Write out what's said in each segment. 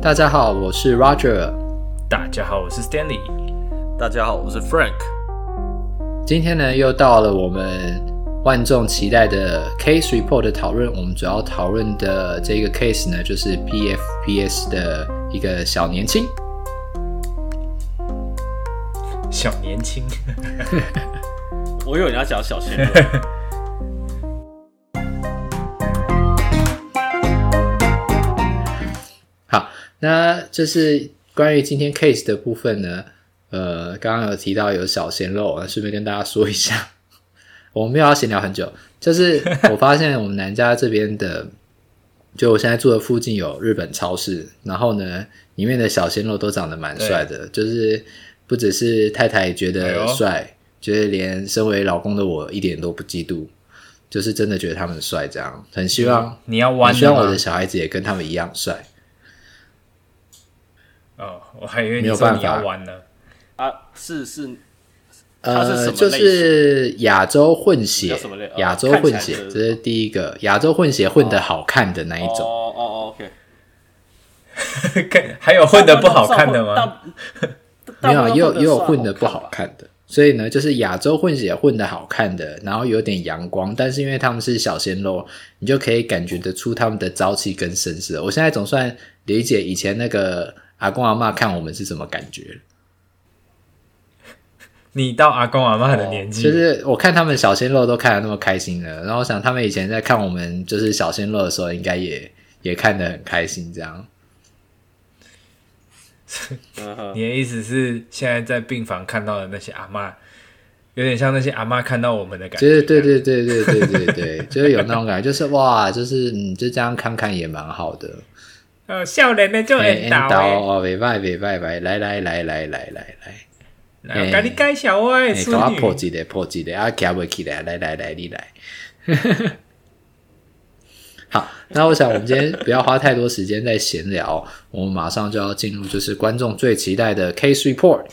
大家好，我是 Roger。 大家好，我是 Stanley。 大家好，我是 Frank。 今天呢，又到了我们万众期待的 Case Report 的讨论。我们主要讨论的这个 case 呢，就是 PFPS 的一个小年轻。 小年轻， 我以为你要讲小鲜肉。 好，那就是关于今天 case 的部分呢，刚刚有提到有小鲜肉，顺便跟大家说一下，我们没有要闲聊很久，就是我发现我们南加这边的，就我现在住的附近有日本超市，然后呢，里面的小鲜肉都长得蛮帅的，就是不只是太太觉得帅，觉得连身为老公的我一点都不嫉妒，就是真的觉得他们帅，这样很希望你要弯的吗？ 很希望我的小孩子也跟他们一样帅。 哦，我还以为你说你要弯呢。 啊，是，它是什么类型？ 就是亚洲混血，亚洲混血，这是第一个亚洲混血混得好看的那一种。 OK。 还有混得不好看的吗？ 没有，也有混得不好看的。所以呢，就是亚洲混血混得好看的，然后有点阳光，但是因为他们是小鲜肉，你就可以感觉得出他们的朝气跟绅士。我现在总算理解以前那个阿公阿嬷看我们是什么感觉。 你到阿公阿嬷的年纪， 就是我看他们小鲜肉都看得那么开心了，然后我想他们以前在看我们就是小鲜肉的时候，应该也看得很开心这样。 你的意思是现在在病房看到的那些阿嬷，有点像那些阿嬷看到我们的感觉。 对，就是有那种感觉，就是哇，就是就这样看看也蛮好的。 少年的就缘投哦，袂歹，来， 跟你介绍我的孙女。 给我破一个，啊，行不起来，来，你来。好，那我想我们今天不要花太多时间在闲聊，我们马上就要进入就是观众最期待的 Case Report。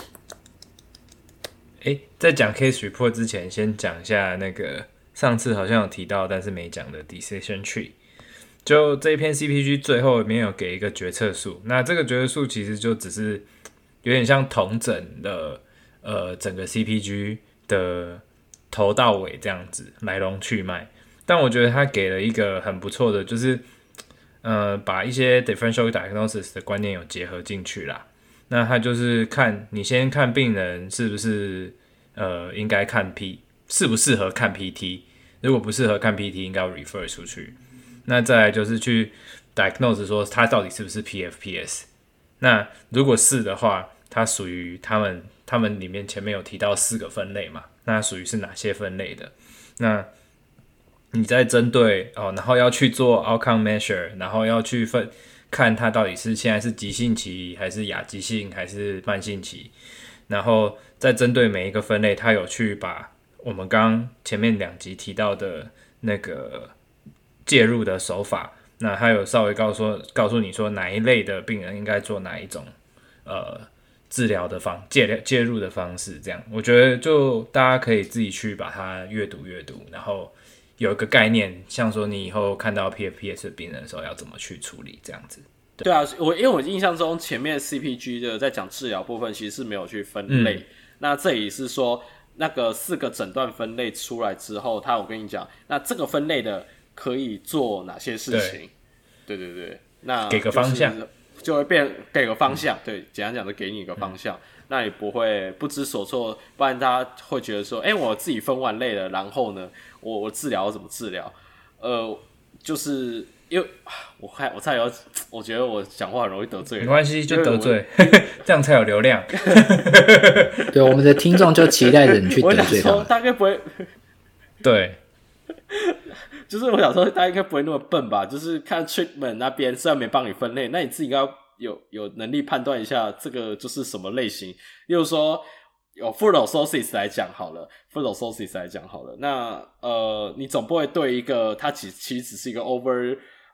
在讲 Case Report 之前，先讲一下那个上次好像有提到但是没讲的 Decision Tree。就这一篇 CPG 最后没有给一个决策数，那这个决策数其实就只是有点像统整的整个 CPG 的头到尾这样子来龙去脉，但我觉得他给了一个很不错的，就是把一些 differential diagnosis 的观念有结合进去啦。那他就是你先看病人是不是应该看适不适合看 PT， 如果不适合看 PT 应该要 refer 出去。那再来就是去 diagnose 说他到底是不是 PFPS。那如果是的话，它属于他们里面前面有提到4个分类嘛？那属于是哪些分类的？那你再针对然后要去做 outcome measure， 然后要去看它到底是现在是急性期还是亚急性还是慢性期，然后再针对每一个分类，它有去把我们刚前面2集提到的那个介入的手法，那他有稍微告诉你说哪一类的病人应该做哪一种治疗的介入的方式，这样我觉得就大家可以自己去把它阅读，然后有一个概念，像说你以后看到 PFPS 的病人的时候要怎么去处理这样子。 对啊，因为我印象中前面 CPG 的在讲治疗部分其实是没有去分类，那这里是说那个4个诊断分类出来之后，我跟你讲，那这个分类的可以做哪些事情？对，那给个方向， 就会给个方向。对，简单讲就给你一个方向，那你不会不知所措，不然大家会觉得说，我自己分完类了，然后呢，我治疗怎么治疗？就是因为我觉得我讲话很容易得罪人， 没关系，就得罪，这样才有流量。 对，我们的听众就期待着你去得罪他们。 大概不会， 对。 就是我想说，大家应该不会那么笨吧？就是看 treatment 那边虽然没帮你分类，那你自己应该有能力判断一下这个就是什么类型。例如说，有 foot ulcers 来讲好了，那你总不会对一个他其实只是一个 overuse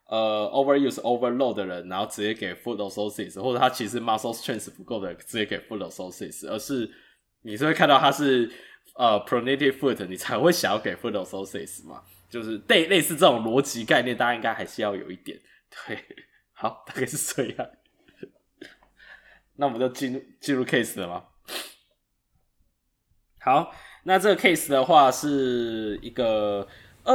overload 的人，然后直接给 foot ulcers， 或者他其实 muscle strength 不够的人直接给 foot ulcers， 而是你是会看到他是pronated foot， 你才会想要给 foot ulcers 嘛。就是类似这种逻辑概念，大家应该还是要有一点。对，好，大概是这样。 那我们就进入 case 了吗？好，那这个 case 的话是一个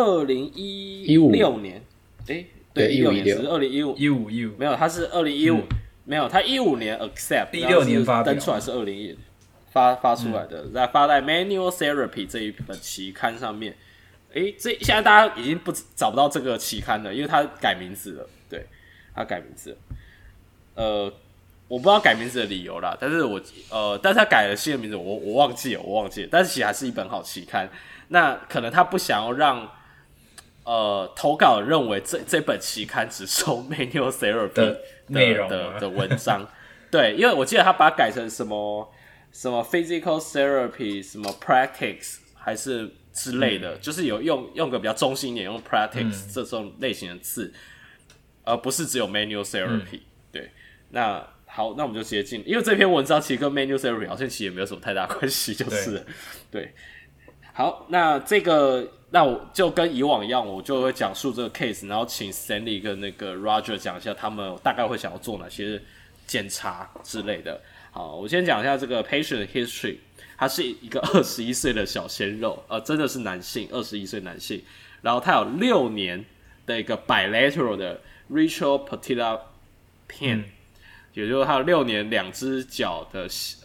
2016年，对，16年，只是2015，没有，它是2015，没有，它15年 accept， 16年发登出来是2015发出来的，发在 Manual Therapy 这一本期刊上面。这现在大家已经找不到这个期刊了，因为它改名字了，对，它改名字了，我不知道改名字的理由啦，但是但是他改了新的名字，我忘记了，但是其实还是一本好期刊。那可能他不想要让投稿认为这本期刊只收 Manual Therapy 的内容的文章，对，因为我记得他把它改成什么 Physical Therapy 什么 Practice 还是之类的，就是有用个比较中性一点，用 Practice 这种类型的字，而不是只有 Manual Therapy，对，那。好，那我们就直接进，因为这篇文章其实跟 Manual Therapy 好像其实也没有什么太大关系，就是了对。好，那我就跟以往一样，我就会讲述这个 case， 然后请 Stanley 跟那个 Roger 讲一下他们大概会想要做哪些检查之类的。好，我先讲一下这个 patient history， 他是一个21岁的小鲜肉，真的是男性，21岁男性，然后他有6年的一个 bilateral 的 retropatellar pain。也就是他有6年2只脚的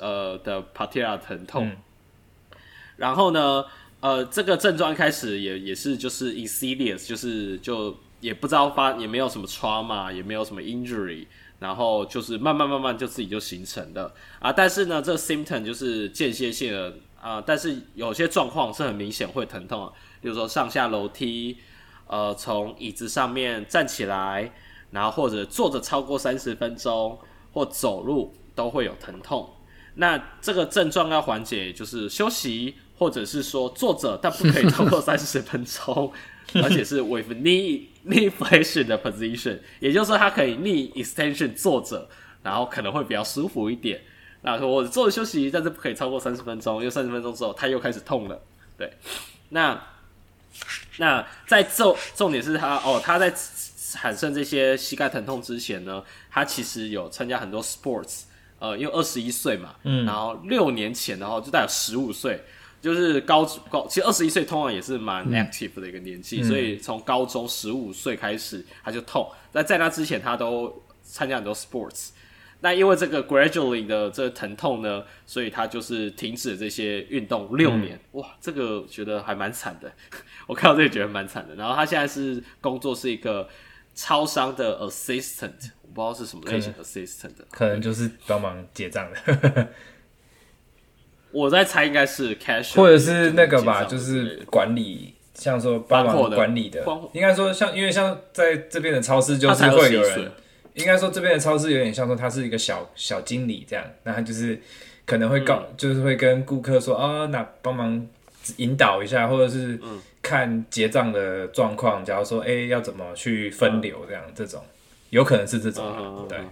patella 疼痛，然后呢，这个症状一开始也是就是 insidious， 就也不知道也没有什么 trauma， 也没有什么 injury， 然后就是慢慢就自己就形成了啊。但是呢，这个 symptom 就是间歇性的啊，但是有些状况是很明显会疼痛的，比如说上下楼梯，从椅子上面站起来，然后或者坐着超过30分钟。或走路都会有疼痛，那这个症状要缓解，就是休息，或者是说坐着，但不可以超过30分钟，而且是 with knee flexion 的 position， 也就是说，它可以 knee extension 坐着，然后可能会比较舒服一点。那我坐着休息，但是不可以超过30分钟，因为30分钟之后它又开始痛了。对，那在重点是他在产生这些膝盖疼痛之前呢，他其实有参加很多 sports， 因为21岁嘛，然后6年前然后就大概15岁，就是其实21岁通常也是蛮 active 的一个年纪，所以从高中15岁开始他就痛，但在那之前他都参加很多 sports。那因为这个 gradually 的这个疼痛呢，所以他就是停止了这些运动6年。哇，这个我觉得还蛮惨的，我看到这个觉得蛮惨的。然后他现在是工作是一个超商的 assistant， 我不知道是什么类型的 assistant， 可能就是帮忙结账的。 我在猜应该是 cashier， 或者是那个吧，就是管理，像说帮忙管理的。应该说因为像在这边的超市就是会有人。应该说这边的超市有点像说他是一个小经理这样，那他就是可能会就是会跟顾客说那帮忙引导一下，或者是看结账的状况，假如说要怎么去分流这样，这种有可能是这种对。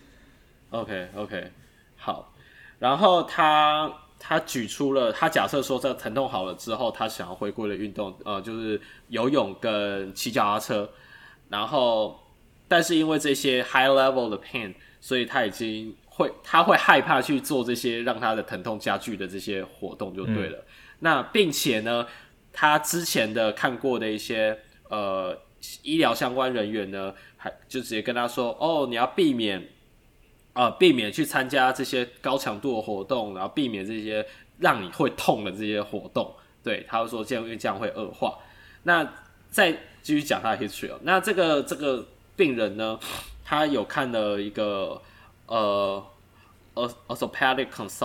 OK， 好，然后他举出了他假设说这疼痛好了之后，他想要回归的运动就是游泳跟骑脚踏车，然后。但是因为这些 high level 的 pain， 所以他会害怕去做这些让他的疼痛加剧的这些活动就对了。那并且呢，他之前的看过的一些医疗相关人员呢，就直接跟他说，你要避免去参加这些高强度的活动，然后避免这些让你会痛的这些活动。对，他会说因为这样会恶化。那再继续讲他的 history， 那这个病人呢，他有看了一个orthopedic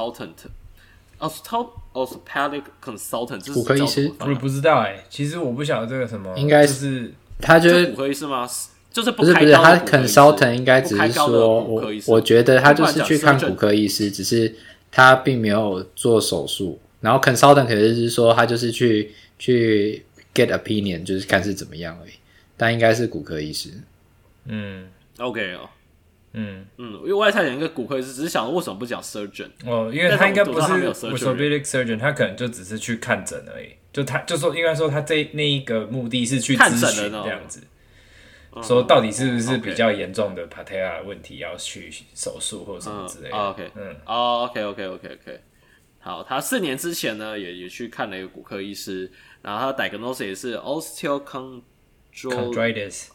consultant，orthopedic consultant 骨科医师， 我不知道其实我不晓得这个什么， 应该是他就是骨科医师吗？就是不是他 consultant 应该只是说，我觉得他就是去看骨科医师，只是他并没有做手术，然后 consultant 可能是说他就是去 get opinion， 就是看是怎么样而已，但应该是骨科医师。 OK 因为我也猜想一个骨科医师，只是想为什么不讲 surgeon？ 因为他应该不是 orthopedic surgeon， 他可能就只是去看诊而已。就说应该说他那一个目的是去咨询这样子。 说到底是不是比较严重的 patella 问题要去手术或什么之类的。 OK，好，他4年之前呢也去看了一个骨科医师，然后他的 diagnosis 也是 osteochondritis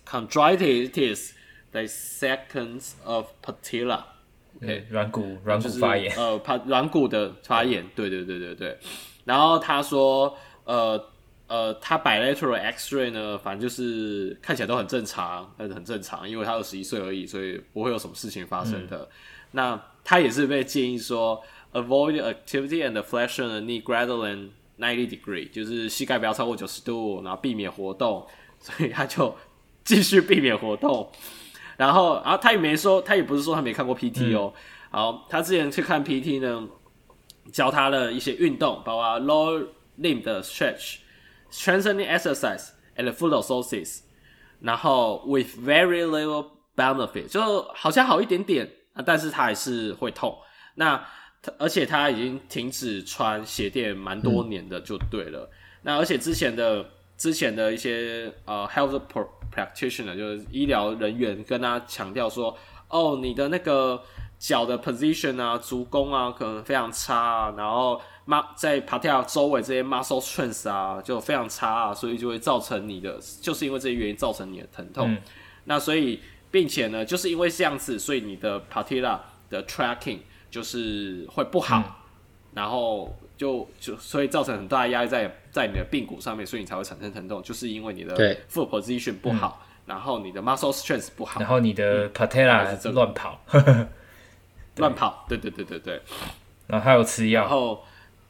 dissections of patella。OK， 软骨发炎， 软骨的发炎，对。然后他说，他 bilateral X-ray 呢，反正就是看起来都很正常，因为他21岁而已，所以不会有什么事情发生的。那他也是被建议说 ，avoid activity and flexion the knee greater than 90 degree， 就是膝盖不要超过90度，然后避免活动，所以他就继续避免活动。然后他也没说，他也不是说他没看过 PT 哦。好，他之前去看 PT 呢，教他的一些运动，包括 lower limb 的 stretching exercise and foot orthosis， 然后 with very little benefit， 就好像好一点点，但是他还是会痛。那而且他已经停止穿鞋垫蛮多年的，就对了。那而且之前的一些health practitioner 就是医疗人员跟他强调说，你的那个脚的 position 啊，足弓啊，可能非常差啊，然后在 patella 周围这些 muscle strength 啊，就非常差啊，所以就会造成就是因为这些原因造成你的疼痛。那所以，并且呢，就是因为这样子，所以你的 patella 的 tracking 就是会不好，然后所以造成很大的压力在你的髌骨上面，所以你才会产生疼痛，就是因为你的 foot position 不好，然后你的 muscle strength 不好， 然后你的 patella 乱跑， 乱跑，对， 然后还有吃药， 然后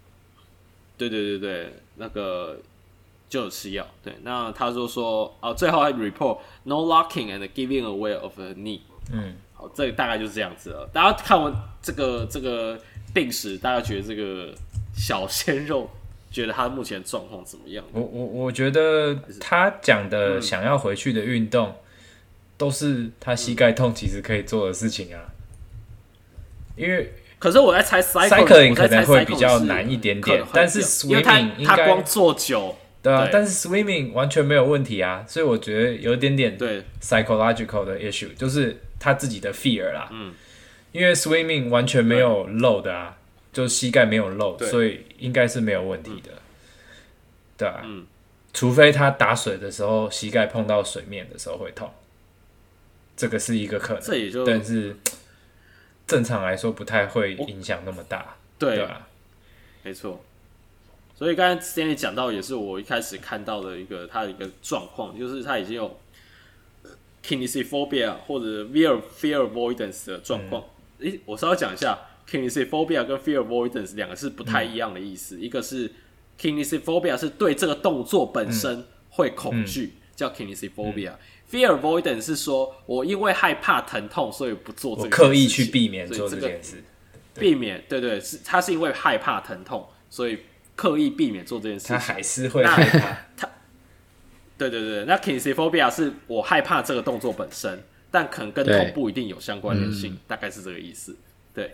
对，那个就有吃药，对，那他就说最后还 report no locking and giving away of the knee， 好，这个大概就是这样子了。大家看完这个病史，大家觉得这个小鲜肉觉得他目前状况怎么样？ 我觉得他讲的想要回去的运动，都是他膝盖痛其实可以做的事情啊。因为可是我在猜 cycling 可能会比较难一点点，但是 swimming 应该他光做久， 对啊，但是 swimming 完全没有问题啊，所以我觉得有一点点 psychological 的 issue， 就是他自己的 fear 啦。因为 swimming 完全没有漏的啊，就膝盖没有漏，所以应该是没有问题的。对啊，除非他打水的时候膝盖碰到水面的时候会痛，这个是一个可能，但是正常来说不太会影响那么大。对啊， 没错。所以刚才 Stanley 讲到，也是我一开始看到的他的一个状况，就是他已经有 kinesiophobia 或者 fear avoidance 的状况。我稍微讲一下 kinesiophobia 跟 fear avoidance 两个是不太一样的意思。一个是 kinesiophobia 是对这个动作本身会恐惧，叫 kinesiophobia。fear avoidance 是说我因为害怕疼痛，所以不做这个事情， 我刻意去避免做这件事。 避免，对，他是因为害怕疼痛，所以刻意避免做这件事情。 他还是会害怕。 对，那 kinesiophobia 是我害怕这个动作本身，但可能跟痛不一定有相关联性，大概是这个意思。对。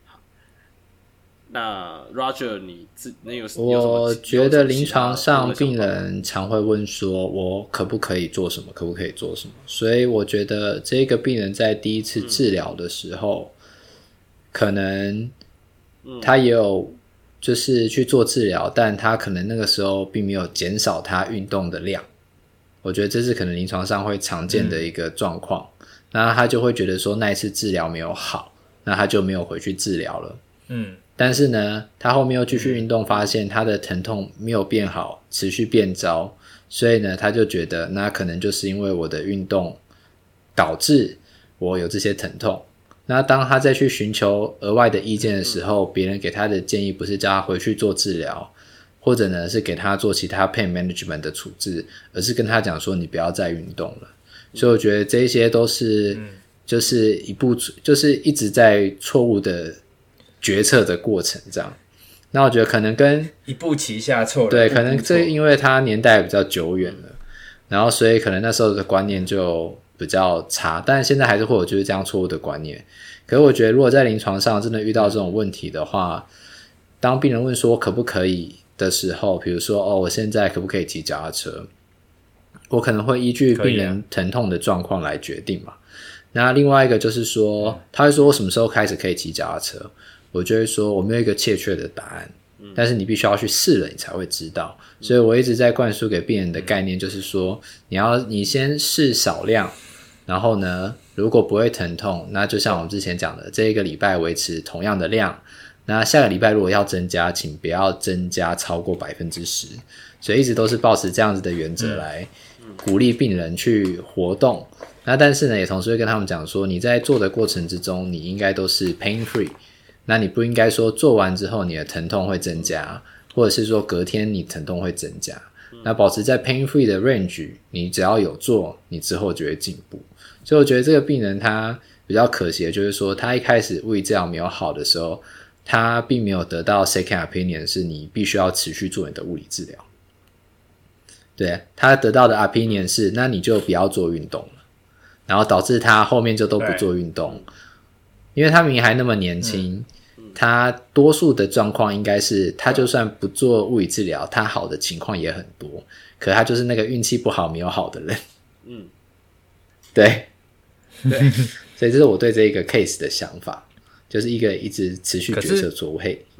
那 Roger， 你有什么？ 我觉得临床上病人常会问说，我可不可以做什么，可不可以做什么？所以我觉得这个病人在第一次治疗的时候，可能他也有就是去做治疗，但他可能那个时候并没有减少他运动的量。我觉得这是可能临床上会常见的一个状况。那他就会觉得说那一次治疗没有好，那他就没有回去治疗了。但是呢，他后面又继续运动，发现他的疼痛没有变好，持续变糟，所以呢，他就觉得那可能就是因为我的运动导致我有这些疼痛。那当他再去寻求额外的意见的时候，别人给他的建议不是叫他回去做治疗，或者呢是给他做其他 pain management 的处置，而是跟他讲说你不要再运动了。所以我觉得这些都是就是就是一直在错误的决策的过程这样。那我觉得可能跟一步棋下错了， 对，可能这因为它年代比较久远了，然后所以可能那时候的观念就比较差，但现在还是会有就是这样错误的观念。可是我觉得如果在临床上真的遇到这种问题的话，当病人问说可不可以的时候，比如说我现在可不可以骑脚踏车， 我可能会依据病人疼痛的状况来决定嘛。那另外一个就是说，他会说我什么时候开始可以骑脚踏车，我就会说我没有一个确切的答案，但是你必须要去试了你才会知道。所以我一直在灌输给病人的概念就是说，你先试少量，然后呢如果不会疼痛，那就像我们之前讲的，这一个礼拜维持同样的量，那下个礼拜如果要增加，请不要增加超过 10%。 所以一直都是抱持这样子的原则来鼓励病人去活动。那但是呢也同时会跟他们讲说，你在做的过程之中你应该都是 pain free， 那你不应该说做完之后你的疼痛会增加，或者是说隔天你疼痛会增加。那保持在 pain free 的 range， 你只要有做，你之后就会进步。所以我觉得这个病人他比较可惜的就是说，他一开始物理治疗没有好的时候，他并没有得到 second opinion， 是你必须要持续做你的物理治疗。对，他得到的 opinion 是那你就不要做运动了，然后导致他后面就都不做运动，因为他明明还那么年轻，他多数的状况应该是他就算不做物理治疗，他好的情况也很多，可他就是那个运气不好没有好的人。对，所以这是我对这一个 case 的想法，就是一个一直持续决策错误。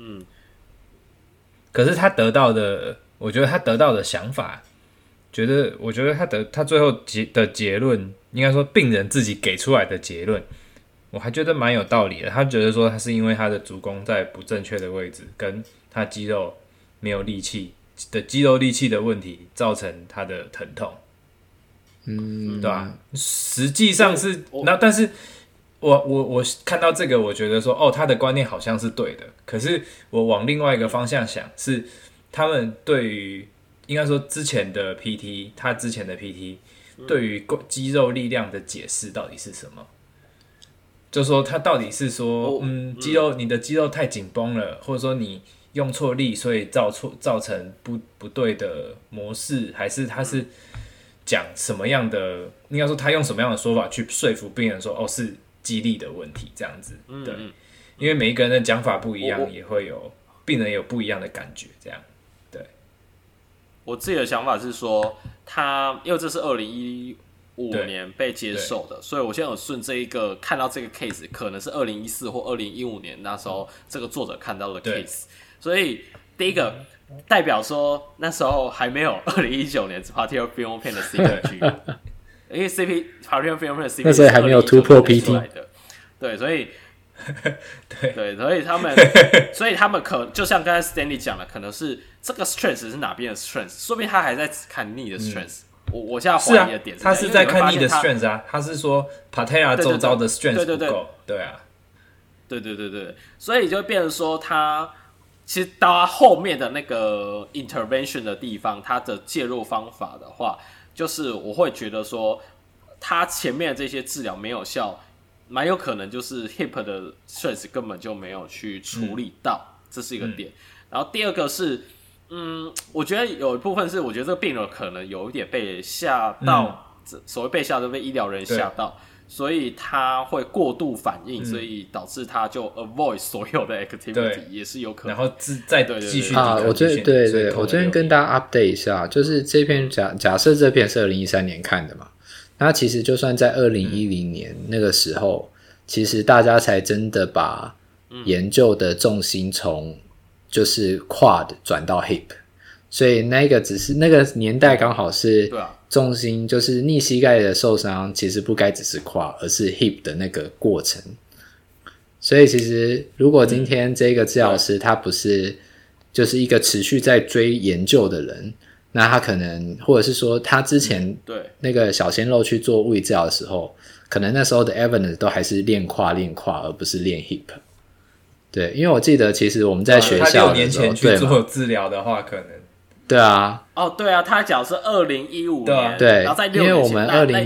可是他得到的，我觉得他得到的想法，我觉得他最后的结论，应该说病人自己给出来的结论，我还觉得蛮有道理的。他觉得说他是因为他的足弓在不正确的位置，跟他肌肉没有力气的肌肉力气的问题，造成他的疼痛。对吧？实际上是那，但是我看到这个，我觉得说他的观念好像是对的。可是我往另外一个方向想，是他们对于应该说之前的 PT， 他之前的 PT 对于肌肉力量的解释到底是什么？就说他到底是说，肌肉你的肌肉太紧绷了，或者说你用错力，所以造成不对的模式，还是他是讲什么样的？应该说他用什么样的说法去说服病人说，是肌力的问题这样子？对，因为每一个人的讲法不一样，也会有病人有不一样的感觉，这样。对， 我自己的想法是说，因为这是2015年被接受的，所以我现在有顺这一个看到这个 case， 可能是2014或2015年那时候这个作者看到的 case， 所以第一个代表说那时候还没有2019年 Partial Film Pain 的 CPG， 因为 Partial Film Pain 的 CPG 那时候还没有突破 PT， 对，所以对，所以他们就像刚才 Stanley 讲的，可能是这个 strength 是哪边的 strength， 说不定他还在看knee的 strength。我现在怀疑的点是他是在看knee的 strength 啊，他是说 patella 周遭的 strength 不够，对啊， 对，所以就会变成说他其实到他后面的那个 intervention 的地方，他的介入方法的话，就是我会觉得说他前面的这些治疗没有效，蛮有可能就是 hip 的 strength 根本就没有去处理到，这是一个点。然后第二个是我觉得有一部分是，我觉得这个病人可能有一点被吓到，所谓被吓到，被医疗人吓到，所以他会过度反应，所以导致他就 avoid 所有的 activity， 也是有可能。 然后再继续我这对，我这边跟大家 update 一下，就是这篇假设这篇是2013年看的嘛，那其实就算在2010年那个时候，其实大家才真的把研究的重心从就是 quad 转到 hip， 所以那个只是那个年代刚好是重心，就是逆膝盖的受伤其实不该只是 quad， 而是 hip 的那个过程。所以其实如果今天这个治疗师他不是就是一个持续在追研究的人，那他可能或者是说他之前那个小鲜肉去做物理治疗的时候，可能那时候的 evidence 都还是练胯而不是练 hip。对，因为我记得其实我们在学校的时候， 他6年前去做治疗的话，可能对啊， 对啊，他讲是2015年， 对， 然后在6年前， 因为我们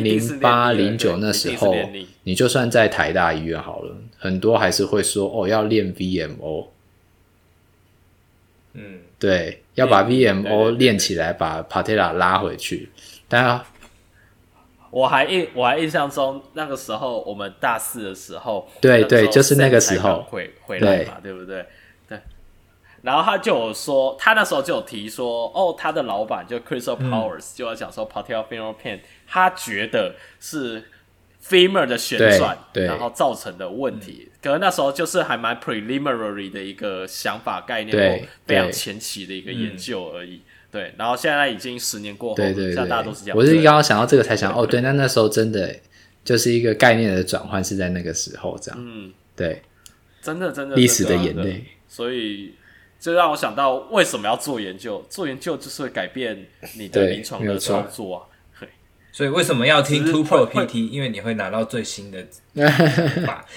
2008、09那时候，你就算在台大医院好了，很多还是会说要练 VMO， 对，要把 VMO 练起来，把 patella 拉回去，但我还印象中那个时候我们大4的时候， 对，就是那个时候回来嘛，对不对？对。 然后他就有说，他那时候就有提说，他的老板就 Crystal Powers、就要讲说 patellofemoral pain， 他觉得是 femur 的旋转，然后造成的问题。可能那时候就是还蛮 preliminary 的一个想法概念，或非常前期的一个研究而已。对，然后现在已经10年过后，现在大家都是这样。 我是刚刚想到这个才想，对，那时候真的就是一个概念的转换是在那个时候这样。对， 真的历史的眼泪， 所以就让我想到为什么要做研究？做研究就是会改变你的临床的操作啊。 所以为什么要听 Two Pro PT？ 因为你会拿到最新的法，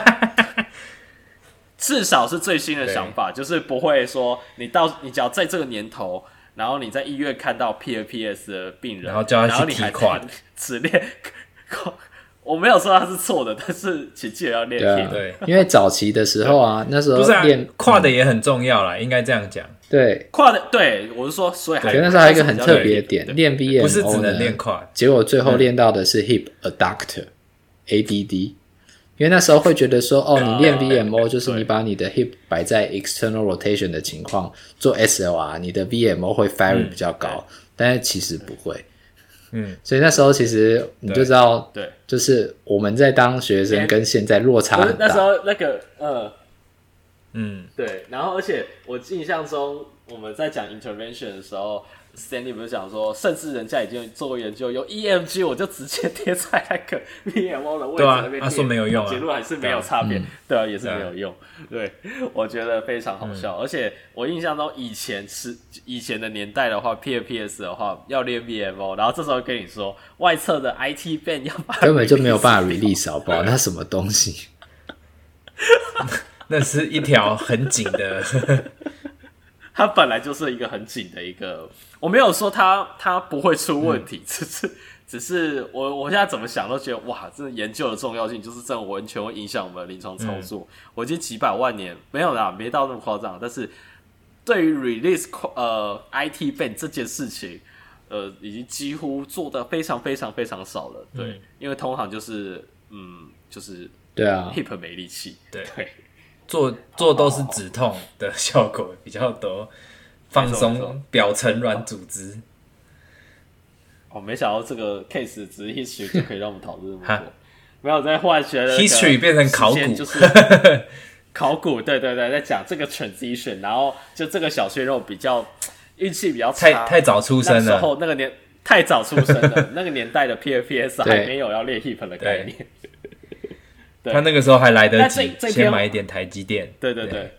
至少是最新的想法，就是不会说你只要在这个年头，然后你在医院看到 PFPS 的病人， 然后叫他去踢胯， 只练。我没有说他是错的，但是请记得要练 hip。 对， 因为早期的时候啊，那时候练跨的也很重要啦，应该这样讲。 对， 跨的，对我是说，所以那时候还有一个很特别的点，练 VMO 不是只能练跨， 结果最后练到的是 hip adductor、ADD， 因为那时候会觉得说，你练 VMO 就是你把你的 hip 摆在 external rotation 的情况做 SLR， 你的 VMO 会 vary 比较高，但是其实不会。所以那时候其实你就知道， 对， 就是我们在当学生跟现在落差很大。 那时候那个对，然后而且我印象中我们在讲 intervention 的时候 ，Stanley 不是讲说，甚至人家已经做过研究，有 EMG 我就直接贴在那个 VMO 的位置那边， 他说没有用啊， 结论还是没有差别，对啊，也是没有用。对，我觉得非常好笑，而且我印象中以前的年代的话 ，PFPS 的话要练 VMO， 然后这时候跟你说外侧的 IT band 要把根本就没有办法 release， 好不好？那什么东西？ 那是一条很紧的， 它本来就是一个很紧的一个，我没有说它不会出问题，只是我现在怎么想都觉得哇，真的研究的重要性就是真的完全会影响我们的临床操作。我已经几百万年没有啦，没到那么夸张，但是对于 release IT band 这件事情，已经几乎做的非常非常非常少了。对，因为通常就是就是对啊 ，hip 没力气，对。 做都是止痛的效果比较多，放松表层软组织。 没想到这个 case 只是 history 就可以让我们讨论这么多，没有在化学的 history 变成考古， 就是考古，对，在讲这个 transition， 然后就这个小鲜肉比较运气比较差， 太早出生了， 那时候太早出生了，那个年代的 PFPS 还没有要练 hip 的概念。 他那个时候还来得及先买一点台积电。 对。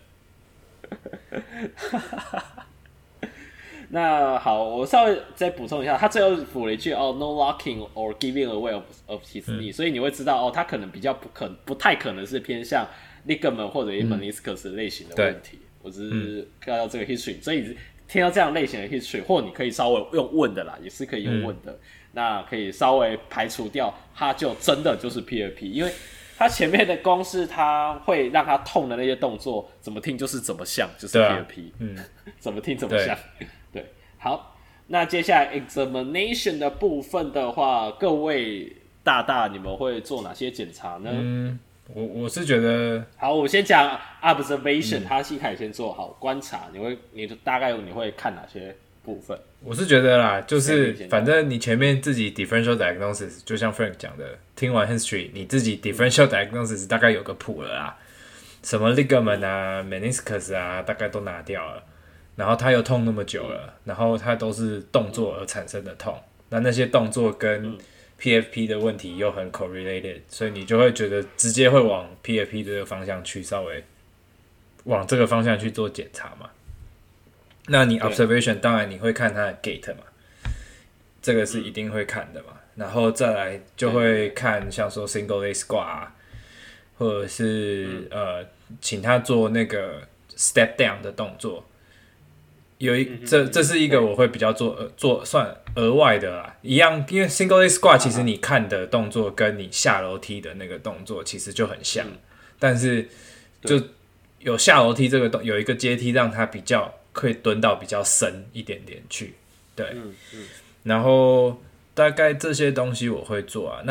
那好，我稍微再补充一下，他最后补了一句no locking or giving away of his knee，所以你会知道他可能比较不太可能是偏向 ligament 或者 meniscus 类型的问题。我只是看到这个 history， 所以听到这样类型的 history， 或你可以稍微用问的啦，也是可以用问的，那可以稍微排除掉，他就真的就是 PFP， 因为他前面的公式，他会让他痛的那些动作，怎么听就是怎么像，就是 PFP，怎么听怎么像，对。好，那接下来 examination 的部分的话，各位大你们会做哪些检查呢？ 我是觉得， 好，我先讲 observation，他一开始先做好观察，你大概你会看哪些部分？ 我是觉得啦，就是反正你前面自己 differential diagnosis， 就像 Frank 讲的，听完 history， 你自己 differential diagnosis 大概有个谱了啦，什么 ligament 啊 meniscus 啊，大概都拿掉了，然后他又痛那么久了，然后他都是动作而产生的痛，那些动作跟PFP 的问题又很 correlated， 所以你就会觉得直接会往 PFP 这个方向去，稍微往这个方向去做检查嘛。那你 observation 当然你会看它的 gait 嘛，这个是一定会看的嘛。然后再来就会看像说 single leg squat 啊，或者是请他做那个 step down 的动作。这是一个我会比较做算额外的啦，一样，因为 single leg squat 其实你看的动作跟你下楼梯的那个动作其实就很像，但是就有下楼梯这个有一个阶梯让它比较可以蹲到比较深一点点去，对，然后大概这些东西我会做啊。那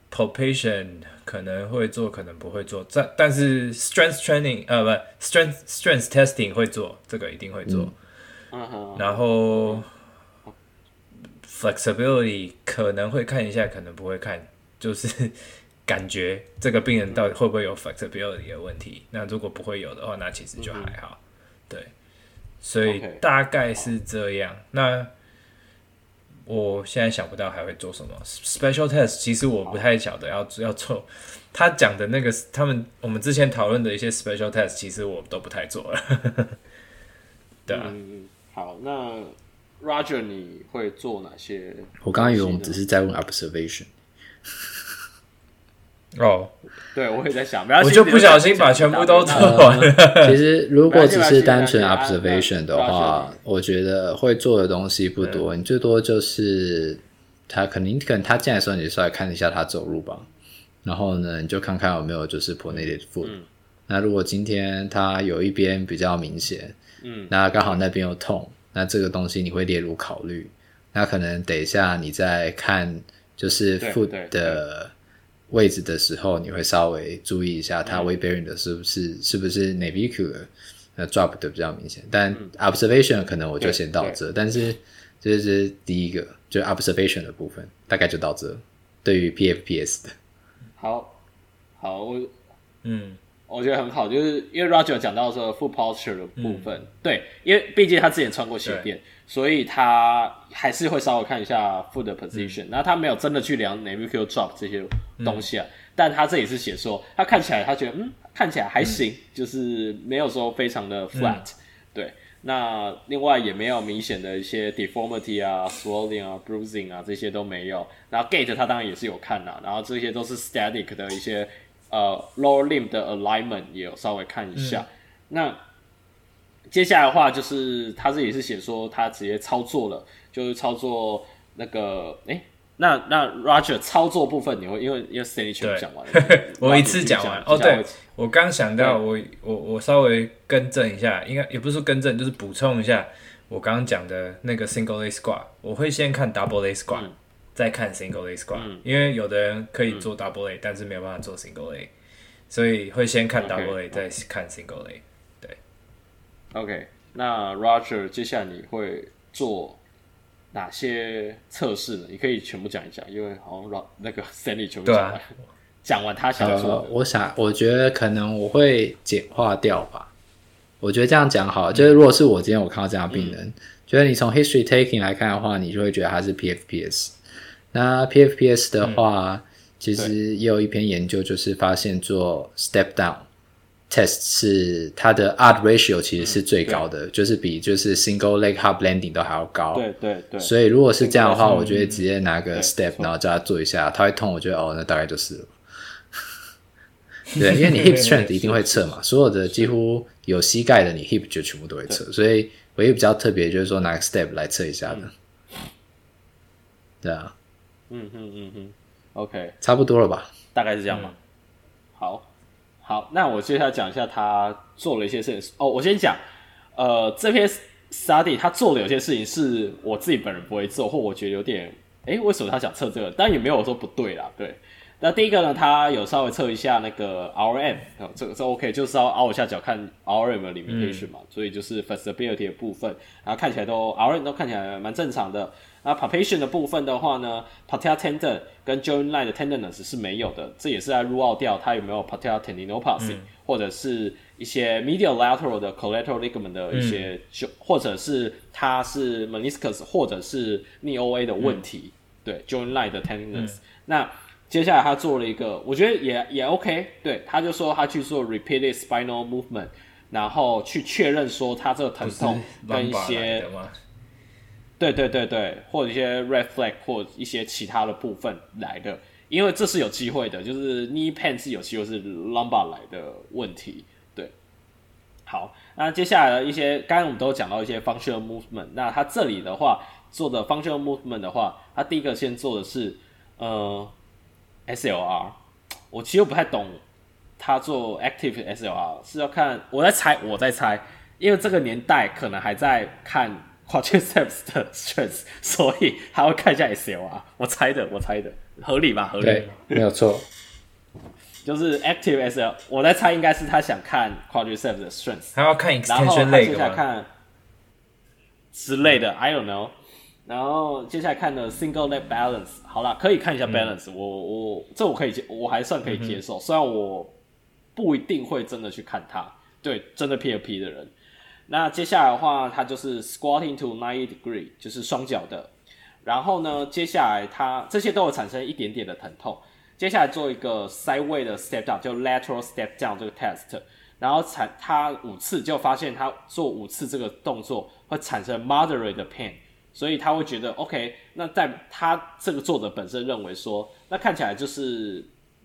palpation 可能会做，可能不会做。但是 strength training 不 strength testing 会做，这个一定会做。然后 flexibility 可能会看一下，可能不会看，就是感觉这个病人到底会不会有 flexibility 的问题。那如果不会有的话，那其实就还好。对，所以大概是这样。那我现在想不到还会做什么 special test， 其实我不太晓得要做。他讲的那个我们之前讨论的一些 special test， 其实我都不太做了。对啊。 好，那 Roger 你会做哪些？ 我刚刚以为我们只是在问 observation。 哦， 对，我也在想， 我就不小心把全部都做完了。 其实如果只是单纯 observation 的话，我觉得会做的东西不多，你最多就是他可能他进来的时候，你就稍微看一下他走路吧，然后呢，你就看看有没有就是 pronated foot。那如果今天他有一边比较明显，那刚好那边有痛，那这个东西你会列入考虑。那可能等一下你在看就是 foot 的位置的时候，你会稍微注意一下它 weight bearing 的是不是 navicular drop 的比较明显。但 observation 可能我就先到这，但是这是第一个，就 observation 的部分大概就到这。对于 PFPS 的， 好，我觉得很好，就是因为 Roger 讲到说 foot posture 的部分，对，因为毕竟他之前穿过鞋垫，所以他还是会稍微看一下 foot 的 position，然后他没有真的去量 navicular drop 这些东西啊，但他这里是写说他看起来他觉得看起来还行，就是没有说非常的 flat，对，那另外也没有明显的一些 deformity 啊 swelling 啊 bruising 啊这些都没有，然后 gait 他当然也是有看啦，然后这些都是 static 的一些lower limb 的 alignment 也有稍微看一下。那接下来的话就是他这里是写说他直接操作了，就是操作那个那 Roger 操作部分你会因为 Stanley 全部讲完了， 我一次讲完。哦，对，我刚想到我稍微更正一下，应该也不是说更正，就是补充一下我刚刚讲的那个 single leg squat， 我会先看 double leg squat，再看 single leg squat，因为有的人可以做 double leg，但是没有办法做 single leg， 所以会先看 double leg，再看 single leg。对 ，OK， 那 Roger 接下来你会做哪些测试呢？你可以全部讲一下，因为好像那个 Stanley 全部讲完，讲完他想说的。 我觉得可能我会简化掉吧。我觉得这样讲好了，就是如果是我今天我看到这样的病人，觉得你从 history taking 来看的话，你就会觉得他是 PFPS。那 PFPS 的话，其实也有一篇研究，就是发现做 step down test 是它的 odd ratio 其实是最高的，就是比就是 single leg hop landing 都还要高。 对。 所以如果是这样的话，我觉得直接拿个 step，然后叫他做一下，他会痛，我觉得那大概就是了。对，因为你 hip strength 一定会测嘛，所有的几乎有膝盖的，你 hip 就全部都会测，所以唯一比较特别就是说拿个 step 来测一下的。对啊。 OK， 差不多了吧？ 大概是这样吧。好，那我接下来讲一下他做了一些事情。我先讲，这篇 study 他做的有些事情是我自己本人不会做，或我觉得有点，为什么他想测这个？但也没有说不对啦，对。那第一个呢，他有稍微测一下那个 RM，这 OK， 就是要凹一下脚看 RM 的 limitation 嘛，所以就是 flexibility 的部分，然后看起来都 RM 都看起来蛮正常的。那 palpation 的部分的话呢 ，patellar tendon 跟 joint line 的 tenderness 是没有的，这也是在 rule out掉它有没有 patellar tendinopathy，或者是一些 medial lateral 的 collateral ligament 的一些，或者是它是 meniscus 或者是 knee OA 的问题，对 joint line 的 tenderness。那接下来他做了一个，我觉得也 OK， 对，他就说他去做 repeated spinal movement， 然后去确认说他这个疼痛跟一些，对，或者一些 red flag 或一些其他的部分来的，因为这是有机会的，就是 knee pain 是有机会是 lumbar 来的问题，对。好，那接下来的一些，刚刚我们都讲到一些 functional movement， 那他这里的话做的 functional movement 的话，他第一个先做的是SLR， 我其实不太懂他做 active SLR 是要看，我在猜，因为这个年代可能还在看 quadriceps 的 strength， 所以他会看一下 SLR。我猜的，合理吧？合理， 对，没有错。 就是 active SL， 我在猜应该是他想看 quadriceps 的 strength， 他要看 extension 然后他 leg 接下来吗？ 看之类的 ，I don't know。然后接下来看的 single leg balance， 好啦，可以看一下 balance，这我可以我还算可以接受，虽然我不一定会真的去看它，对，真的 PFP 的人。那接下来的话，它就是 squatting to 90 degree， 就是双脚的。然后呢，接下来它这些都有产生一点点的疼痛。接下来做一个 sideway 的 step down， 就 lateral step down 这个 test， 然后他5次就发现他做5次这个动作会产生 moderate 的 pain， 所以他会觉得 OK， 那在他这个作者本身认为说，那看起来就是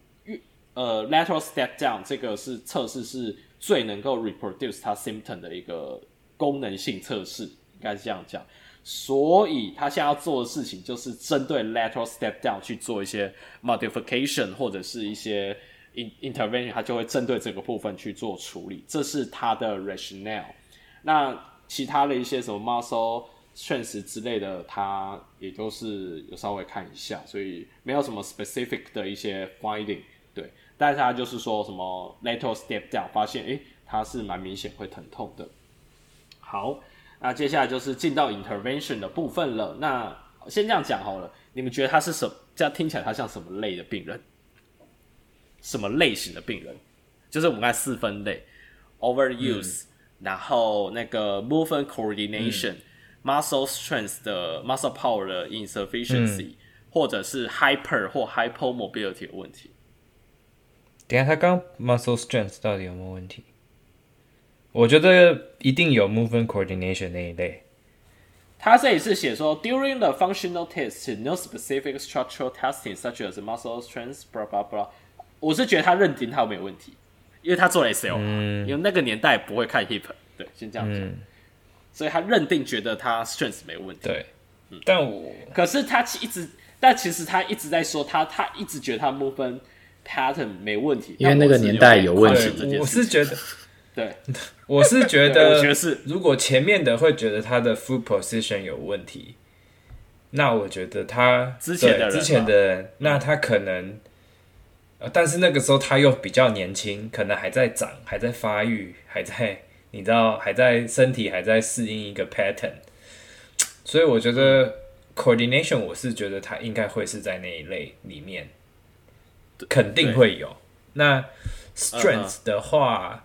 lateral step down 这个是测试是最能够 reproduce 他 symptom 的一个功能性测试，应该是这样讲。所以他现在要做的事情就是针对 lateral step down 去做一些 modification 或者是一些 intervention， 他就会针对这个部分去做处理，这是他的 rationale。那其他的一些什么 muscle strength 之类的，他也都是有稍微看一下，所以没有什么 specific 的一些 finding， 对。但是他就是说什么 lateral step down 发现他是蛮明显会疼痛的。好，那接下来就是进到 intervention 的部分了。那先这样讲好了，你们觉得他是什么？这样听起来他像什么类的病人？什么类型的病人？就是我们刚才4分类 ：overuse，然后那个 movement coordination、muscle strength 的 muscle power 的 insufficiency，或者是 hyper 或 hypomobility 的问题。 等一下，他刚 muscle strength 到底有没有问题？我觉得一定有 movement coordination 那一类。 他这里是写说 ，during the functional test, no specific structural testing such as muscle strength, blah blah blah。我是觉得他认定他有没有问题，因为他做了 SL，因为那个年代不会看 hip， 对，先这样讲，所以他认定觉得他 strength 没有问题。 对，可是他但其实他一直在说他一直觉得他 movement pattern 没问题， 因为那个年代有问题。我是觉得。 对， 我是觉得， 我觉得是， 如果前面的会觉得他的 foot position 有问题，那我觉得他之前的人，那他可能，但是那个时候他又比较年轻，可能还在长，还在发育，还在你知道，还在身体还在适应一个 pattern， 所以我觉得 coordination 我是觉得他应该会是在那一类里面，肯定会有。那 strength 的话。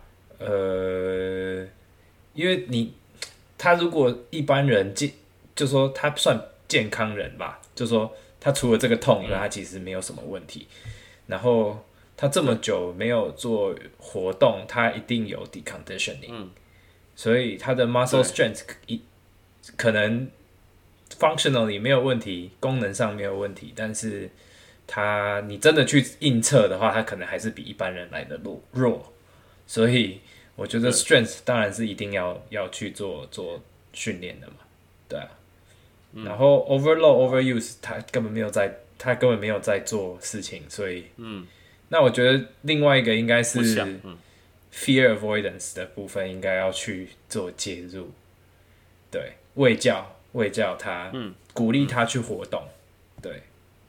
因为他如果一般人就说他算健康人吧，就说他除了这个痛以外，他其实没有什么问题。然后他这么久没有做活动，他一定有 deconditioning，所以他的 muscle strength 可能 functionally 没有问题，功能上没有问题，但是你真的去硬测的话，他可能还是比一般人来的弱。所以我觉得 strength 当然是一定要去做训练的嘛，对啊。然后 overload overuse 他根本没有在做事情，所以那我觉得另外一个应该是 fear avoidance 的部分应该要去做介入，对，卫教他，鼓励他去活动，对，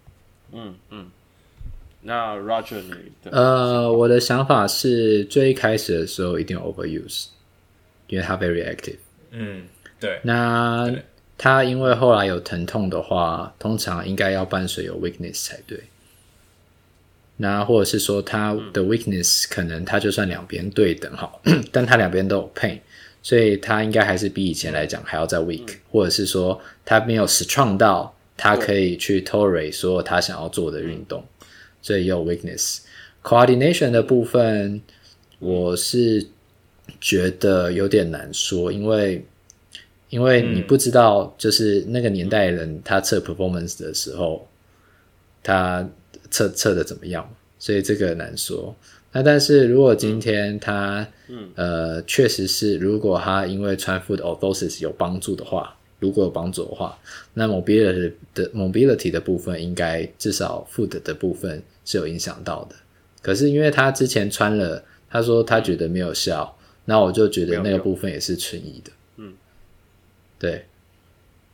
那 Roger 你我的想法是最一开始的时候一定 overuse， 因为他 very active。 对。 那他因为后来有疼痛的话，通常应该要伴随有 weakness 才对。那或者是说他的 weakness 可能他就算两边对等好，但他两边都有 pain， 所以他应该还是比以前来讲还要再 weak，或者是说他没有 strong 到他可以去 tolerate 所有他想要做的运动。所以有 weakness。coordination 的部分，我是觉得有点难说，因为你不知道，就是那个年代的人他测 performance 的时候，他测的怎么样，所以这个难说。那但是如果今天他确实是，如果他因为穿 foot orthosis 有帮助的话。如果有帮助的话，那 mobility 的部分应该至少 foot 的部分是有影响到的。可是因为他之前穿了，他说他觉得没有效，那我就觉得那个部分也是存疑的。对。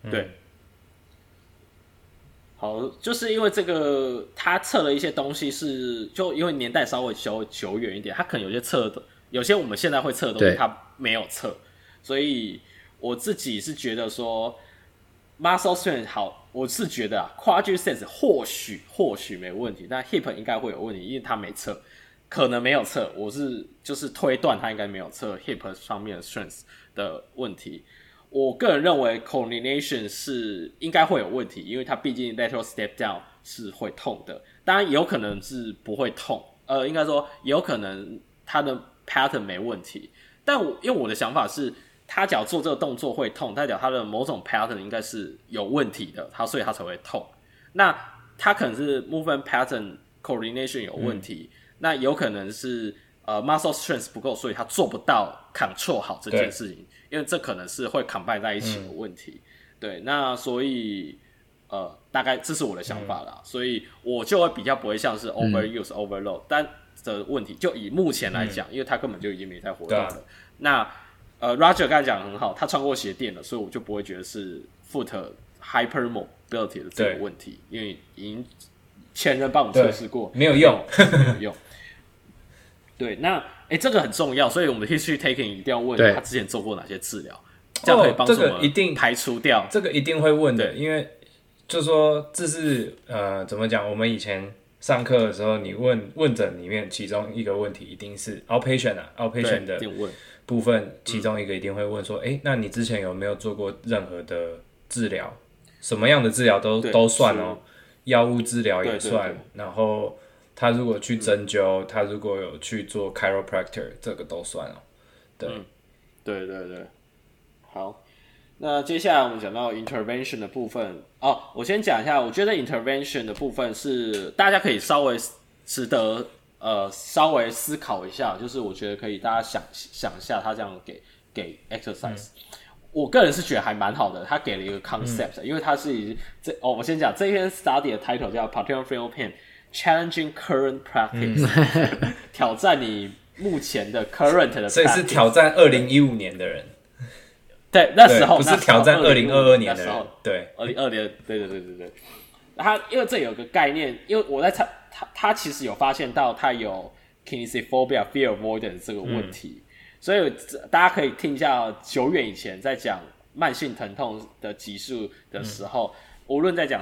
对。好，就是因为这个，他测了一些东西是，就因为年代稍微久远一点，他可能有些测的，有些我们现在会测的东西，他没有测，所以我自己是觉得说 ，muscle strength 好，我是觉得quadriceps 或许没问题，但 hip 应该会有问题，因为他没测，可能没有测，我是就是推断他应该没有测 hip 上面的 strength 的问题。我个人认为 coordination 是应该会有问题，因为它毕竟 lateral step down 是会痛的，当然有可能是不会痛，应该说有可能它的 pattern 没问题，但因为我的想法是，他只要做这个动作会痛，代表他的某种 pattern 应该是有问题的，所以他才会痛。那他可能是 movement pattern coordination 有问题，那有可能是muscle strength 不够，所以他做不到 control 好这件事情。因为这可能是会 combine 在一起的问题，对，那所以大概这是我的想法啦，所以我就会比较不会像是 overuse、overload， 但的问题就以目前来讲，因为他根本就已经没在活动了。那Roger 刚才讲得很好，他穿过鞋垫了，所以我就不会觉得是 foot hypermobility 的这个问题，因为已经前人帮我们测试过， 没有用， 没有用。对，那这个很重要，所以我们的 history taking 一定要问他之前做过哪些治疗，这样可以帮助我们排除掉。 这个一定会问的，因为就说这是怎么讲？我们以前上课的时候，你问诊里面其中一个问题一定是 outpatient 的部分，其中一个一定会问说，那你之前有没有做过任何的治疗？什么样的治疗都算哦，药物治疗也算，对，然后。他如果去针灸，他如果有去做 chiropractor， 这个都算哦。对， 对对对，好。那接下来我们讲到 intervention 的部分我先讲一下，我觉得 intervention 的部分是大家可以稍微值得稍微思考一下，就是我觉得可以大家想一下，他这样给 exercise。我个人是觉得还蛮好的，他给了一个 concept，因为他是我先讲这篇 study 的 title 叫 patellofemoral pain。Challenging current practice，挑战你目前的 current 的 practice， 所以是挑战2015年的人， 对，那时候不是挑战2022年的人，对 ，2022年，对。他因为这有个概念，因为我在他其实有发现到他有 kinesiophobia、fear avoidance 这个问题，所以大家可以听一下久远以前在讲慢性疼痛的集数的时候，无论在讲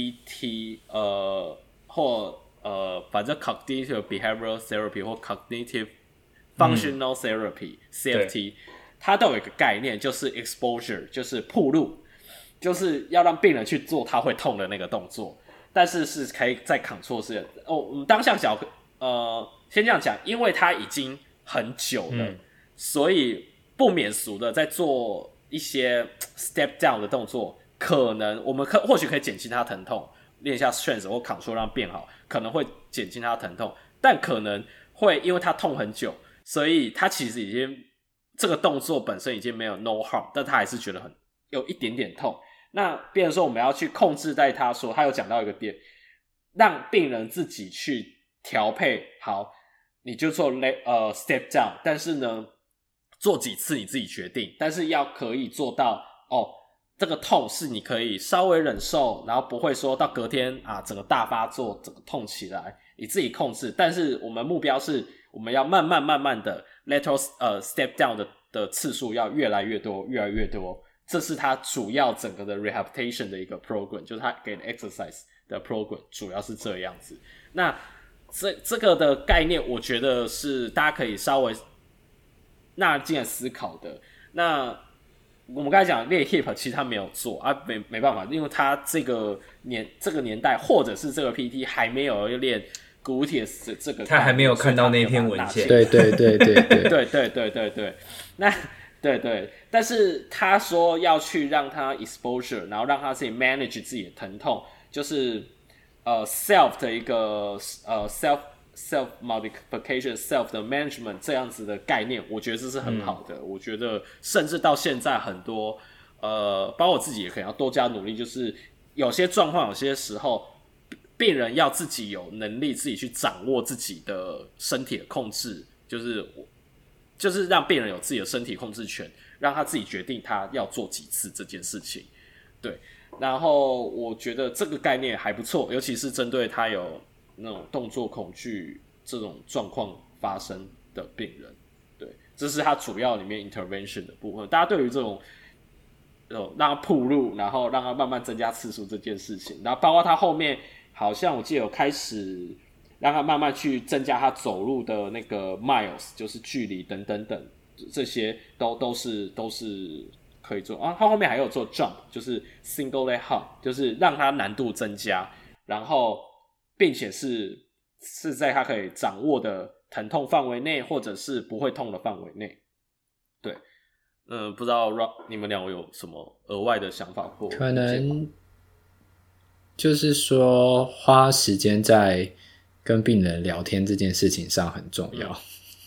CBT，或反正 cognitive behavioral therapy 或 cognitive functional therapy、CFT， 它都有一个概念，就是 exposure， 就是暴露，就是要让病人去做他会痛的那个动作，但是是可以在 control 是我们当下讲先这样讲，因为他已经很久了，所以不免俗的在做一些 step down 的动作，可能我们或许可以减轻他疼痛。练一下 strength 或 control 让变好，可能会减轻他的疼痛，但可能会因为他痛很久，所以他其实已经这个动作本身已经没有 no harm， 但他还是觉得有一点点痛。那变成说我们要去控制在他说，他有讲到一个点，让病人自己去调配好，你就做step down， 但是呢做几次你自己决定，但是要可以做到这个痛是你可以稍微忍受，然后不会说到隔天整个大发作，整个痛起来，你自己控制。但是我们目标是，我们要慢慢的 lateral step down 的次数要越来越多，越来越多。这是它主要整个的 rehabilitation 的一个 program， 就是它给的 exercise 的 program 主要是这样子。那这个的概念，我觉得是大家可以稍微纳进来思考的。那我们刚才讲练 hip， 其实他没有做没办法，因为他这个年代或者是这个 PT 还没有练 gluteus 这个， 他还没有看到那篇文献。 对， 那对，但是他说要去让他 exposure， 然后让他自己 manage 自己的疼痛，就是self 的一个self modification self 的 management 这样子的概念，我觉得这是很好的。我觉得甚至到现在很多包括我自己也可能要多加努力，就是有些状况有些时候病人要自己有能力自己去掌握自己的身体的控制，就是让病人有自己的身体控制权，让他自己决定他要做几次这件事情。 对，然后我觉得这个概念还不错，尤其是针对他有那种动作恐惧这种状况发生的病人，对，这是他主要里面 intervention 的部分。大家对于这种让他暴露，然后让他慢慢增加次数这件事情，然后包括他后面好像我记得有开始让他慢慢去增加他走路的那个 miles， 就是距离等等等，这些都是可以做啊。他后面还有做 jump， 就是 single leg hop， 就是让他难度增加，然后并且是在他可以掌握的疼痛范围内，或者是不会痛的范围内。对，不知道你们两位有什么额外的想法或可能就是说花时间在跟病人聊天这件事情上很重要，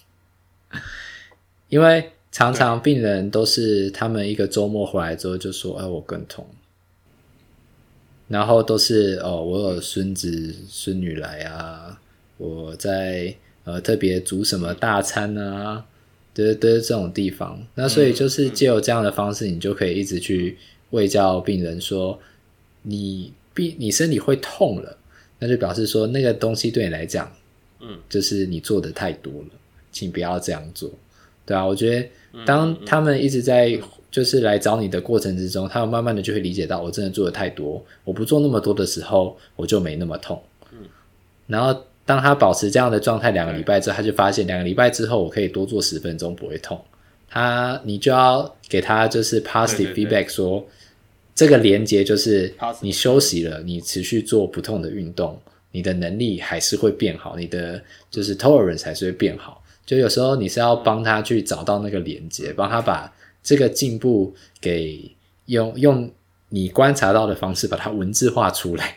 因为常常病人都是他们一个周末回来之后就说我更痛，然后都是我有孙子孙女来啊，我在特别煮什么大餐啊，对这种地方。那所以就是藉由这样的方式，你就可以一直去卫教病人说你身体会痛了，那就表示说那个东西对你来讲就是你做的太多了，请不要这样做。对啊，我觉得当他们一直在就是来找你的过程之中，他们慢慢的就会理解到我真的做的太多，我不做那么多的时候我就没那么痛。然后当他保持这样的状态2个礼拜之后，他就发现2个礼拜之后我可以多做10分钟不会痛。你就要给他就是 positive feedback 说这个连结就是你休息了，你持续做不痛的运动，你的能力还是会变好，你的就是 tolerance 还是会变好。就有时候你是要帮他去找到那个连结，帮他把这个进步给用你观察到的方式把它文字化出来，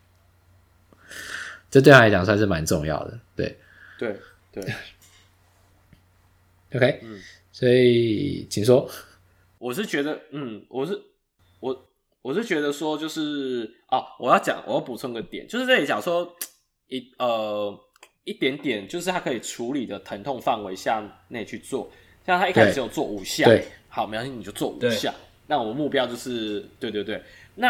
这对他来讲算是蛮重要的。对 OK， 所以请说。 我是觉得我是觉得说就是我要补充个点，就是这里讲说一点点就是他可以处理的疼痛范围下内去做，像他一开始有做5下， 对， 好，没关系，你就做5下。那我目标就是对，那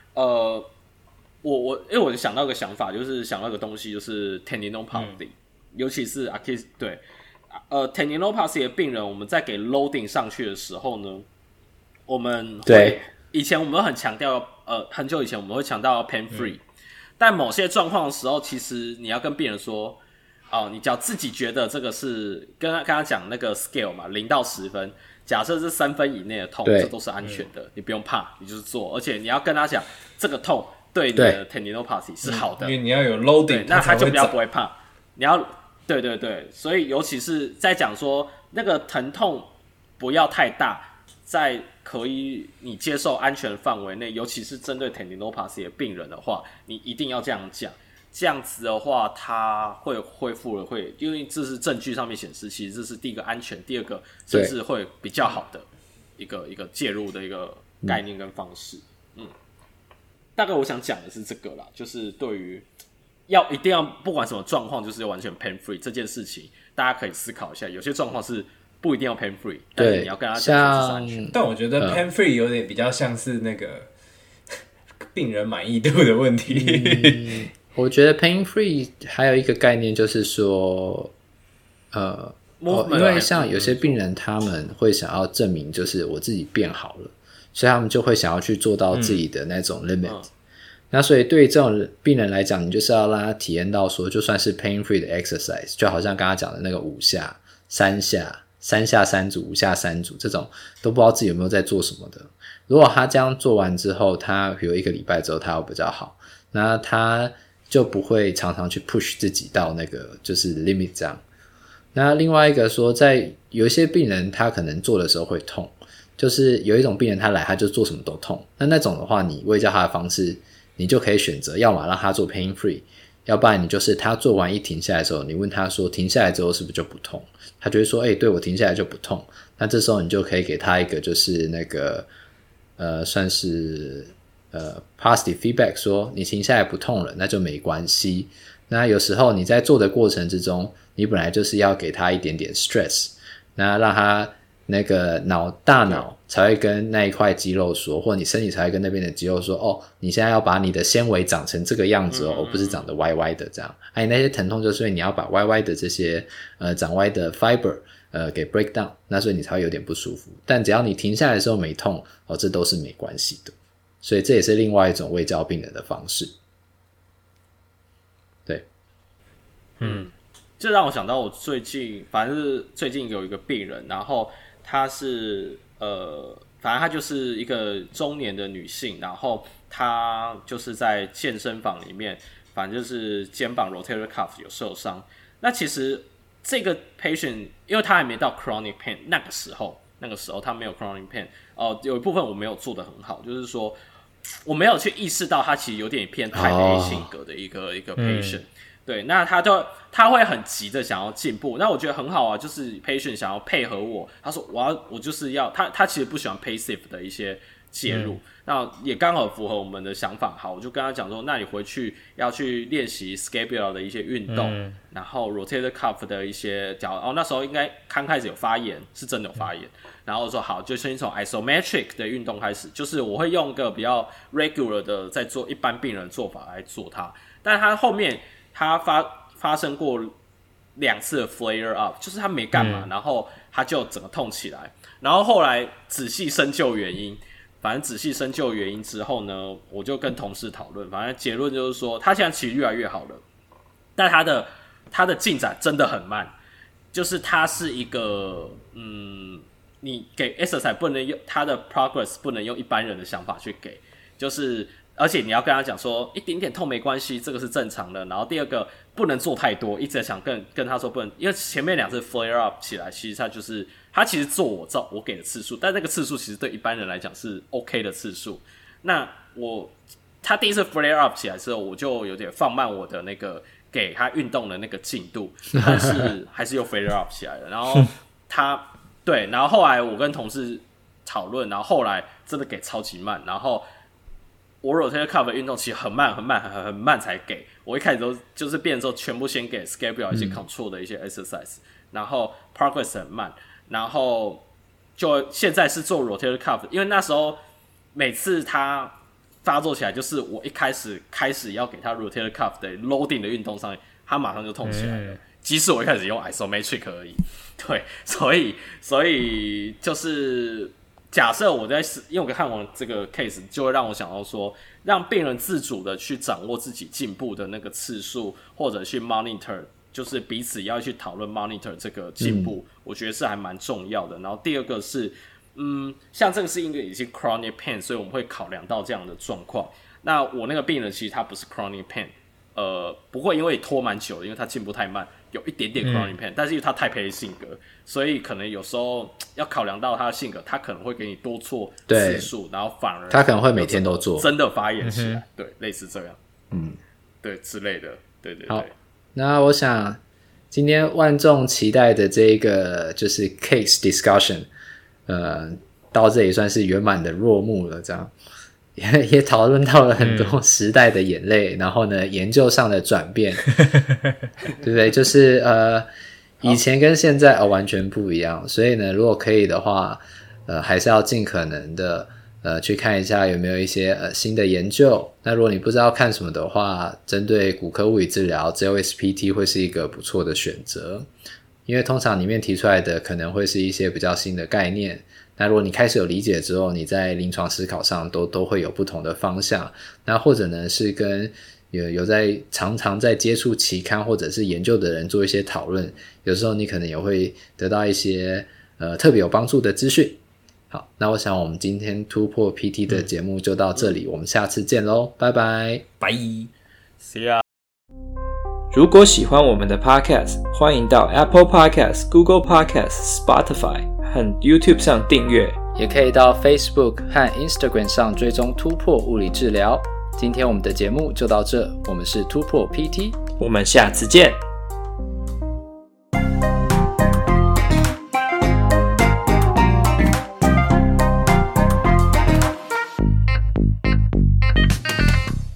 因为我想到一个想法，就是想到一个东西，就是 tendinopathy，尤其是 Achilles， 对tendinopathy 的病人，我们在给 loading 上去的时候呢，我们会以前我们很强调很久以前我们会强调 pain free，但某些状况的时候，其实你要跟病人说你只要自己觉得这个是跟他讲那个 scale 嘛，0到10分，假设是3分以内的痛，这都是安全的，你不用怕，你就是做，而且你要跟他讲这个痛对你的 tendinopathy 是好的， 因为你要有 loading， 那他就比较不会怕。你要对，所以尤其是在讲说那个疼痛不要太大，在可以你接受安全范围内，尤其是针对 tendinopathy 的病人的话，你一定要这样讲。这样子的话，它会恢复了，因为这是证据上面显示，其实这是第一个安全，第二个甚至会比较好的一个介入的一个概念跟方式。大概我想讲的是这个啦，就是对于一定要不管什么状况，就是完全 pain free 这件事情，大家可以思考一下。有些状况是不一定要 pain free， 但是你要跟他讲这是安全。 但我觉得 pain free 有点比较像是那个病人满意度的问题。 我觉得 pain free 还有一个概念就是说因为像有些病人他们会想要证明就是我自己变好了，所以他们就会想要去做到自己的那种 limit，那所以对于这种病人来讲，你就是要让他体验到说就算是 pain free 的 exercise， 就好像刚刚讲的那个5下3下3下3组5下3组，这种都不知道自己有没有在做什么的。如果他这样做完之后，他比如1个礼拜之后他有比较好，那他就不会常常去 push 自己到那个就是 limit 这样。那另外一个说，在有一些病人他可能做的时候会痛，就是有一种病人他来他就做什么都痛，那种的话你卫教他的方式，你就可以选择要么让他做 pain free， 要不然你就是他做完一停下来的时候，你问他说停下来之后是不是就不痛，他就会说对，我停下来就不痛。那这时候你就可以给他一个就是那个算是positive feedback， 说你停下来不痛了，那就没关系。那有时候你在做的过程之中，你本来就是要给他一点点 stress， 那让他那个大脑才会跟那一块肌肉说，或你身体才会跟那边的肌肉说，哦，你现在要把你的纤维长成这个样子哦，而不是长得歪歪的这样。那些疼痛就是因为你要把歪歪的这些长歪的 fiber给 break down， 那所以你才会有点不舒服。但只要你停下来的时候没痛哦，这都是没关系的。所以这也是另外一种卫教病人的方式。对， 这让我想到我最近，反正是最近有一个病人，然后她是反正她就是一个中年的女性，然后她就是在健身房里面，反正就是肩膀 rotator cuff 有受伤。那其实这个 patient 因为她还没到 chronic pain， 那个时候她没有 chronic pain， 有一部分我没有做得很好，就是说我没有去意识到她其实有点偏Type A性格的一个patient。对，那他会很急的想要进步，那我觉得很好啊，就是 patient 想要配合我，他说我就是要他其实不喜欢 passive 的一些介入，那也刚好符合我们的想法。好，我就跟他讲说，那你回去要去练习 scapula 的一些运动，然后 rotator cuff 的一些那时候应该刚开始有发炎，是真的有发炎，然后说好，就先从 isometric 的运动开始，就是我会用一个比较 regular 的在做一般病人的做法来做它，但他后面他发生过2次的 flare up， 就是他没干嘛，然后他就整个痛起来，然后后来仔细深究原因，反正仔细深究原因之后呢，我就跟同事讨论，反正结论就是说，他现在其实越来越好了，但他的进展真的很慢，就是他是一个你给 exercise 不能用他的 progress 不能用一般人的想法去给，就是而且你要跟他讲说一点点痛没关系，这个是正常的。然后第二个不能做太多，一直想跟他说不能，因为前面2次 flare up 起来，其实他其实做我给的次数，但那个次数其实对一般人来讲是 OK 的次数。那他第一次 flare up 起来之后，我就有点放慢我的那个给他运动的那个进度，但是还是又 flare up 起来了。然后对，然后后来我跟同事讨论，然后后来真的给超级慢，然后我 rotator cuff 的运动其实很慢才给，我一开始都就是变成之后全部先给 scapula 一些 control 的一些 exercise，然后 progress 很慢，然后就现在是做 rotator cuff， 因为那时候每次他发作起来，就是我一开始要给他 rotator cuff 的 loading 的运动上面，他马上就痛起来了，即使我一开始用 isometric 而已，对，所以就是假设我因为我看完这个 case， 就会让我想到说，让病人自主的去掌握自己进步的那个次数，或者去 monitor， 就是彼此要去讨论 monitor 这个进步，我觉得是还蛮重要的。然后第二个是，像这个是因为已经 chronic pain， 所以我们会考量到这样的状况。那我那个病人其实他不是 chronic pain， 不会因为拖蛮久的，因为他进步太慢，有一点点 chronic pain，但是因为他太配性格，所以可能有时候要考量到他的性格，他可能会给你多做次数，然后反而他可能会每天都做， 真的发炎起来，对，类似这样，对之类的，对。 好，那我想今天万众期待的这个就是 case discussion，到这里算是圆满的落幕了，这样。也讨论到了很多时代的眼泪，然后呢，研究上的转变，对不对？就是以前跟现在完全不一样，所以呢，如果可以的话，还是要尽可能的去看一下有没有一些新的研究。那如果你不知道看什么的话，针对骨科物理治疗 JOSPT 会是一个不错的选择，因为通常里面提出来的可能会是一些比较新的概念。那如果你开始有理解之后，你在临床思考上都会有不同的方向。那或者呢是跟有在常常在接触期刊或者是研究的人做一些讨论，有时候你可能也会得到一些特别有帮助的资讯。好，那我想我们今天突破 PT 的节目就到这里，我们下次见咯，拜拜， 拜 See ya。 如果喜欢我们的 Podcast， 欢迎到 Apple Podcast、Google Podcast、Spotify 和 YouTube 上订阅， 也可以到 Facebook 和 Instagram 上追踪突破物理治疗。今天我们的节目就到这，我们是突破 PT， 我们下次见。